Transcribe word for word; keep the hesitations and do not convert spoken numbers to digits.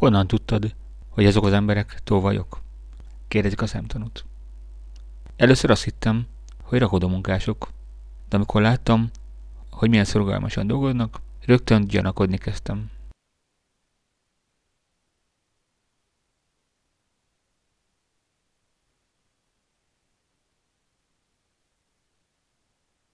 Honnan tudtad, hogy azok az emberek tolvajok? Kérdezik a szemtanút. Először azt hittem, hogy rakodómunkások, de amikor láttam, hogy milyen szorgalmasan dolgoznak, rögtön gyanakodni kezdtem.